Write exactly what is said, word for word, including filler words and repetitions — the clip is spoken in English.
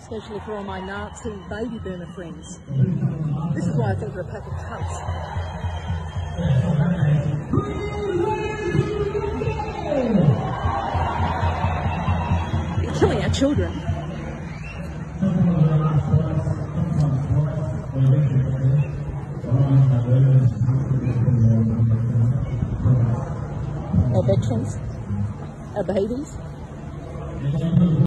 especially for all my Nazi baby boomer friends. This is why I think they're a pack of cunts. You're killing our children. Our veterans, our babies.